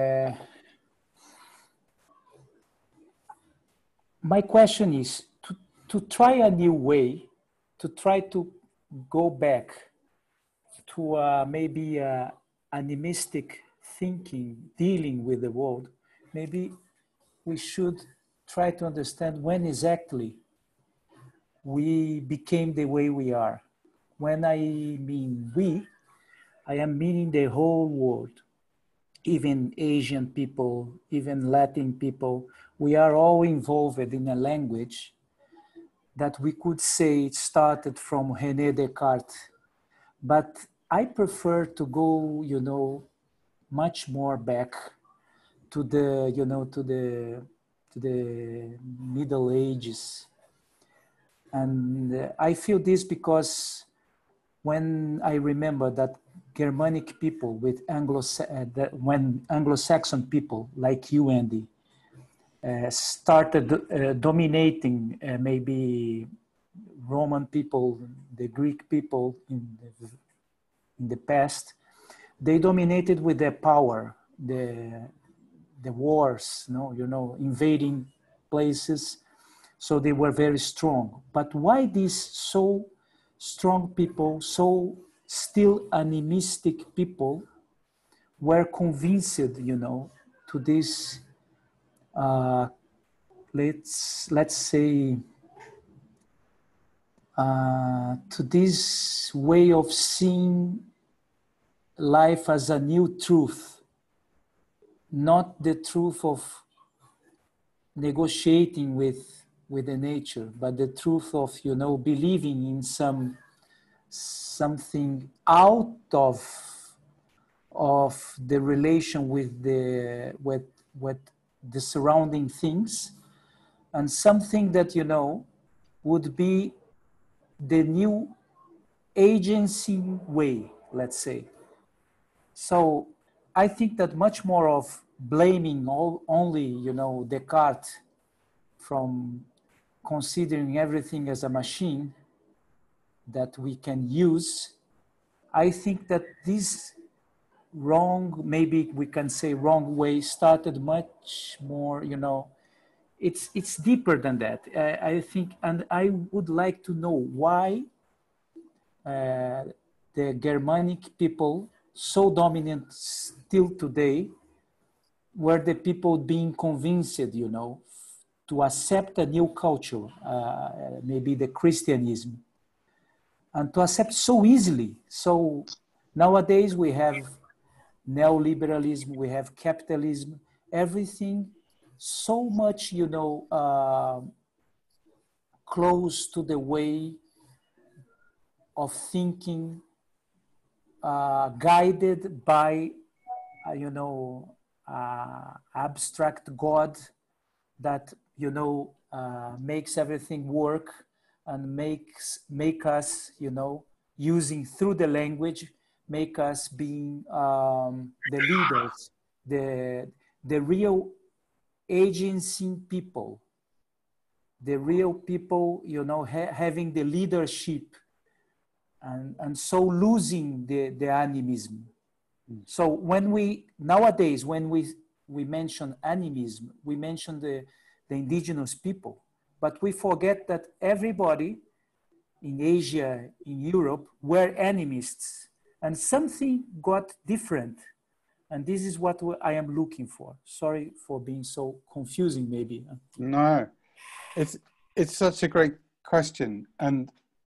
my question is to try a new way, to try to go back to maybe animistic thinking, dealing with the world. Maybe we should try to understand when exactly we became the way we are. When I mean we, I am meaning the whole world, even Asian people, even Latin people. We are all involved in a language that we could say it started from René Descartes. But I prefer to go, you know, much more back to the, you know, to the Middle Ages. And I feel this because when I remember that Germanic people with when Anglo-Saxon people like you, Andy, started dominating maybe Roman people, the Greek people in the past, they dominated with their power, the wars, you know, invading places. So they were very strong. But why these so strong people, so still animistic people were convinced, you know, to this, let's say, to this way of seeing life as a new truth, not the truth of negotiating with the nature, but the truth of, you know, believing in something out of the relation with the surrounding things, and something that, you know, would be the new agency way, let's say. So I think that much more of blaming only, you know, Descartes from considering everything as a machine that we can use, I think that this wrong, maybe we can say wrong way, started much more, you know, it's deeper than that. I think, and I would like to know why the Germanic people, so dominant still today, were the people being convinced, you know, to accept a new culture, maybe the Christianism, and to accept so easily. So nowadays we have neoliberalism, we have capitalism, everything so much, you know, close to the way of thinking, guided by, you know, abstract God that, you know, makes everything work and make us, you know, using through the language, make us being the leaders, the real agency people, the real people, you know, having the leadership, and so losing the animism. So when nowadays, when we mention animism, we mention the indigenous people, but we forget that everybody in Asia, in Europe, were animists, and something got different. And this is what I am looking for. Sorry for being so confusing, maybe. No, it's such a great question, and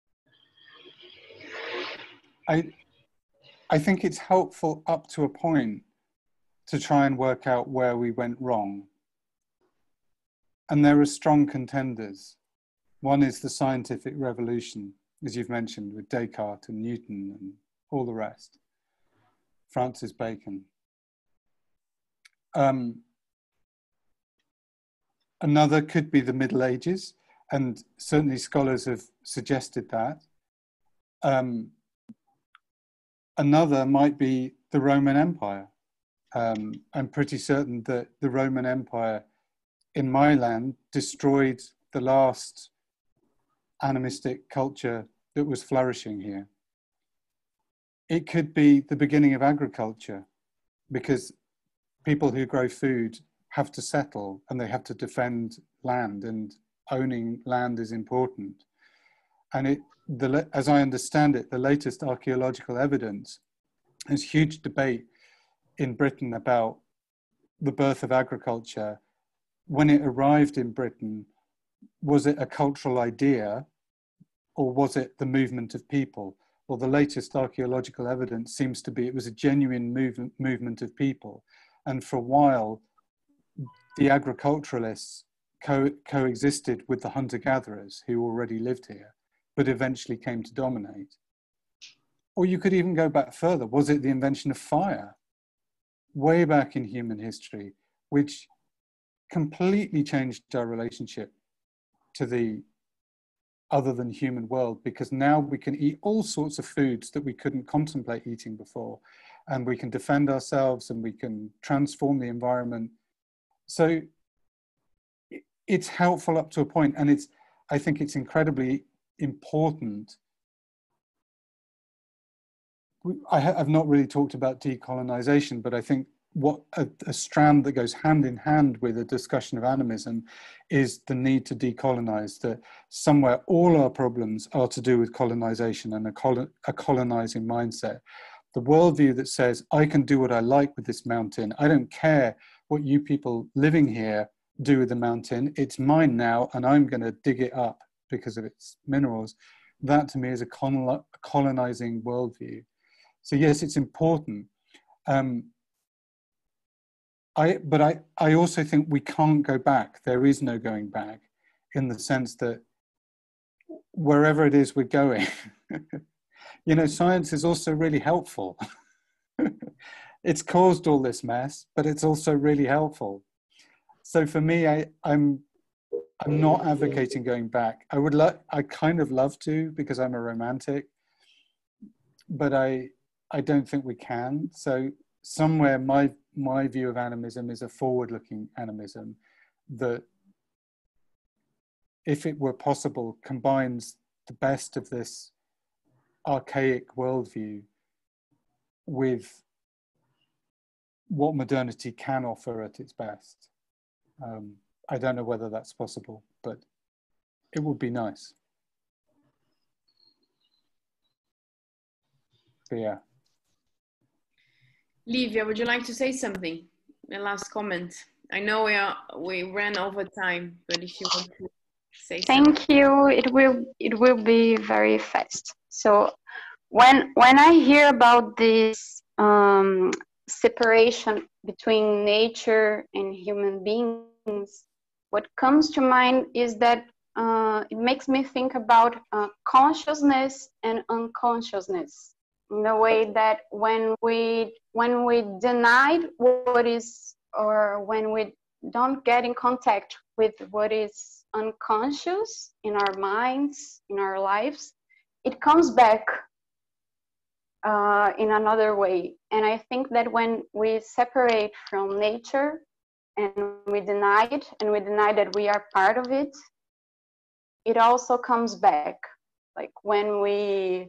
I think it's helpful up to a point to try and work out where we went wrong. And there are strong contenders. One is the scientific revolution, as you've mentioned, with Descartes and Newton and all the rest, Francis Bacon. Another could be the Middle Ages, and certainly scholars have suggested that. Another might be the Roman Empire. I'm pretty certain that the Roman Empire in my land destroyed the last animistic culture that was flourishing here. It could be the beginning of agriculture, because people who grow food have to settle and they have to defend land, and owning land is important. And as I understand it, the latest archaeological evidence, there's huge debate in Britain about the birth of agriculture. When it arrived in Britain, was it a cultural idea or was it the movement of people? Well, the latest archaeological evidence seems to be it was a genuine movement of people. And for a while, the agriculturalists coexisted with the hunter-gatherers who already lived here, but eventually came to dominate. Or you could even go back further. Was it the invention of fire, way back in human history, which completely changed our relationship to the other than human world? Because now we can eat all sorts of foods that we couldn't contemplate eating before, and we can defend ourselves and we can transform the environment. So it's helpful up to a point, and I think it's incredibly important. I've not really talked about decolonization, but I think what a strand that goes hand in hand with a discussion of animism is the need to decolonize, that somewhere all our problems are to do with colonization and a colonizing mindset. The worldview that says, I can do what I like with this mountain. I don't care what you people living here do with the mountain. It's mine now, and I'm going to dig it up because of its minerals. That to me is a colonizing worldview. So yes, it's important. But I also think we can't go back. There is no going back, in the sense that wherever it is we're going, you know, science is also really helpful. It's caused all this mess, but it's also really helpful. So for me, I'm not advocating going back. I kind of love to, because I'm a romantic, but I don't think we can. So somewhere my view of animism is a forward-looking animism that, if it were possible, combines the best of this archaic worldview with what modernity can offer at its best. I don't know whether that's possible, but it would be nice. But yeah. Livia, would you like to say something? A last comment. I know we ran over time, but if you want to say something. Thank you. It will be very fast. So when I hear about this separation between nature and human beings, what comes to mind is that it makes me think about consciousness and unconsciousness, in the way that when we deny what is, or when we don't get in contact with what is unconscious in our minds, in our lives, it comes back in another way. And I think that when we separate from nature and we deny it, and we deny that we are part of it, it also comes back. Like when we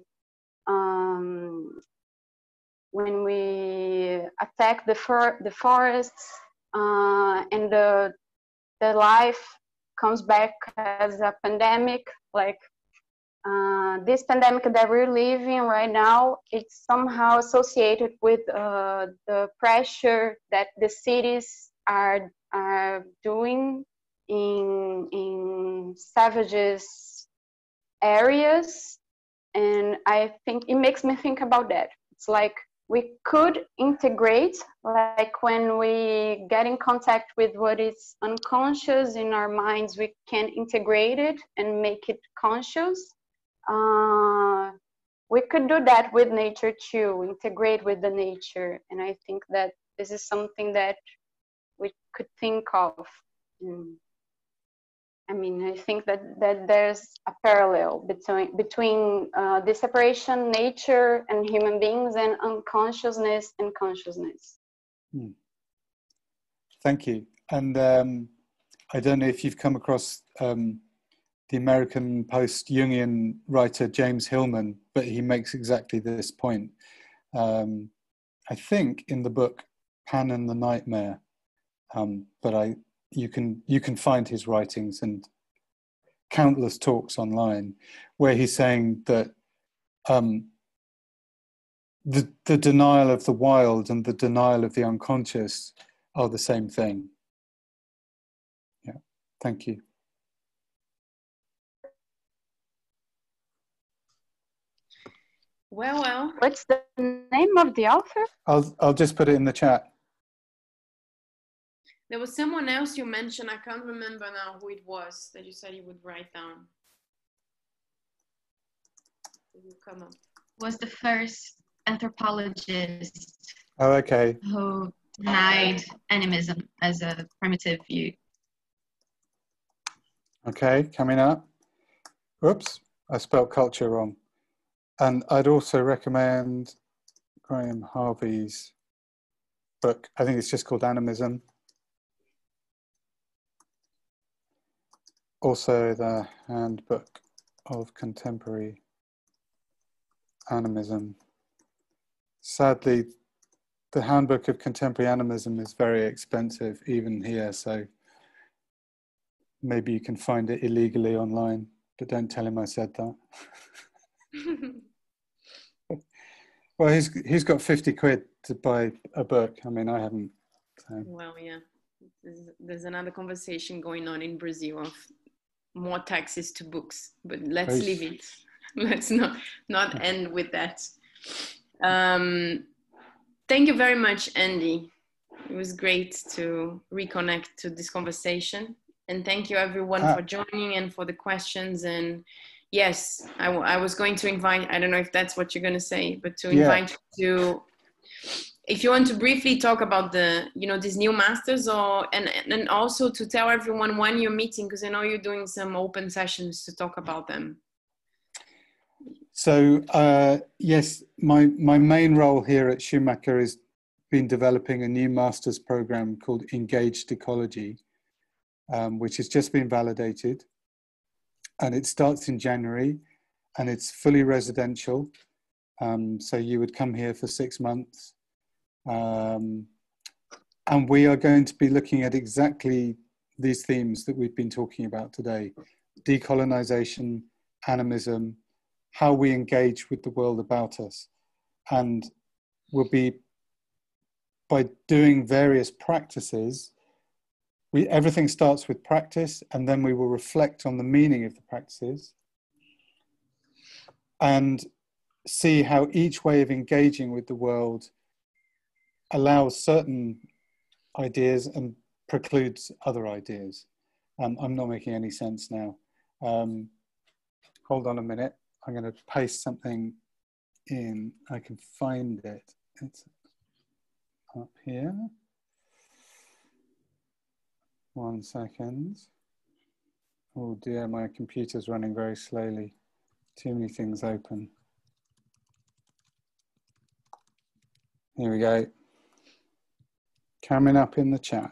attack the forests, and the life comes back as a pandemic, like this pandemic that we're living right now, it's somehow associated with the pressure that the cities are doing in savages areas. And I think it makes me think about that. It's like we could integrate, like when we get in contact with what is unconscious in our minds, we can integrate it and make it conscious. We could do that with nature too, integrate with the nature. And I think that this is something that we could think of. I mean, I think that there's a parallel between the separation, nature and human beings, and unconsciousness and consciousness. Thank you. And I don't know if you've come across the American post-Jungian writer James Hillman, but he makes exactly this point. I think in the book Pan and the Nightmare, but you can find his writings and countless talks online where he's saying that the denial of the wild and the denial of the unconscious are the same thing. Yeah, thank you. Well. What's the name of the author? I'll just put it in the chat. There was someone else you mentioned, I can't remember now who it was, that you said you would write down. It will come up. Was the first anthropologist who denied animism as a primitive view. Okay, coming up. Oops, I spelled culture wrong. And I'd also recommend Graham Harvey's book. I think it's just called Animism. Also the Handbook of Contemporary Animism. Sadly, the Handbook of Contemporary Animism is very expensive, even here. So maybe you can find it illegally online, but don't tell him I said that. Well, he's got 50 quid to buy a book. I mean, I haven't. So. Well, yeah. There's another conversation going on in Brazil of more taxes to books, but let's leave it. Let's not end with that. Thank you very much, Andy. It was great to reconnect to this conversation. And thank you everyone for joining and for the questions. And yes, I was going to invite, I don't know if that's what you're going to say, but to invite you to, if you want to briefly talk about the, these new masters, and also to tell everyone when you're meeting, because I know you're doing some open sessions to talk about them. So yes, my main role here at Schumacher is been developing a new master's program called Engaged Ecology, which has just been validated, and it starts in January, and it's fully residential. So you would come here for 6 months. And we are going to be looking at exactly these themes that we've been talking about today: decolonization, animism, how we engage with the world about us. And we'll be, by doing various practices, everything starts with practice, and then we will reflect on the meaning of the practices and see how each way of engaging with the world allows certain ideas and precludes other ideas. I'm not making any sense now. Hold on a minute. I'm going to paste something in. I can find it. It's up here. 1 second. Oh dear, my computer's running very slowly. Too many things open. Here we go. Coming up in the chat.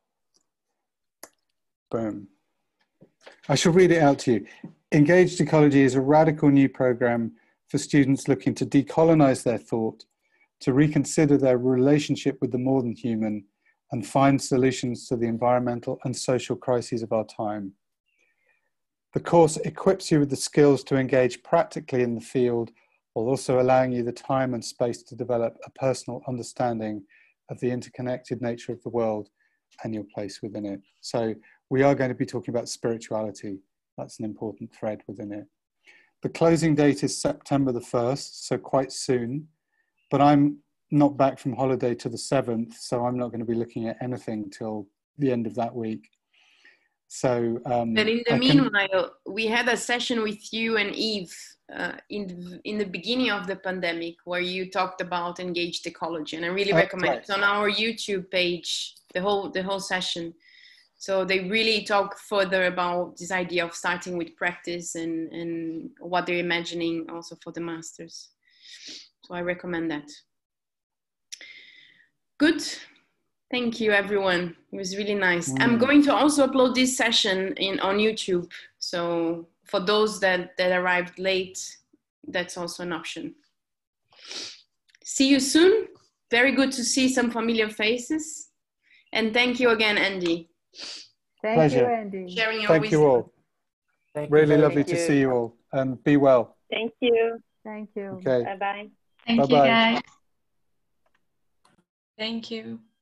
Boom. I shall read it out to you. Engaged Ecology is a radical new program for students looking to decolonize their thought, to reconsider their relationship with the more than human, and find solutions to the environmental and social crises of our time. The course equips you with the skills to engage practically in the field, while also allowing you the time and space to develop a personal understanding of the interconnected nature of the world and your place within it. So we are going to be talking about spirituality. That's an important thread within it. The closing date is September the 1st, so quite soon, but I'm not back from holiday to the 7th, so I'm not going to be looking at anything till the end of that week. So, but in the meanwhile, we had a session with you and Eve in the beginning of the pandemic, where you talked about engaged ecology, and I really recommend it. It's on our YouTube page, the whole session. So they really talk further about this idea of starting with practice and what they're imagining also for the masters. So I recommend that. Good. Thank you, everyone. It was really nice. I'm going to also upload this session on YouTube. So for those that arrived late, that's also an option. See you soon. Very good to see some familiar faces. And thank you again, Andy. Thank you, Andy. Sharing your Thank wisdom. you all. Really lovely to see you all. And be well. Thank you. Thank you. Okay. Bye-bye. Thank you, Bye-bye. guys. Thank you.